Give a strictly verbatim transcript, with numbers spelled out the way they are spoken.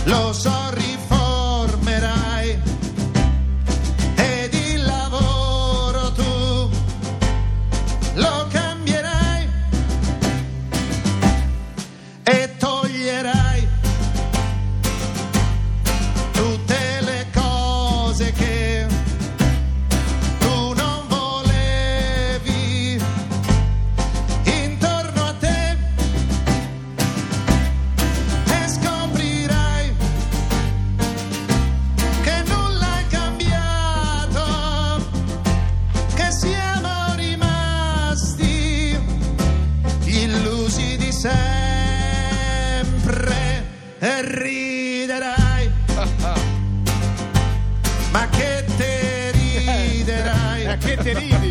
lo so riformerai, ed il lavoro tu lo cambierai e toglierai tutte le cose che tu non volevi intorno a te, e scoprirai che nulla è cambiato, che siamo rimasti gli illusi di sempre, e riderai, ma che te riderai, Che te ridi?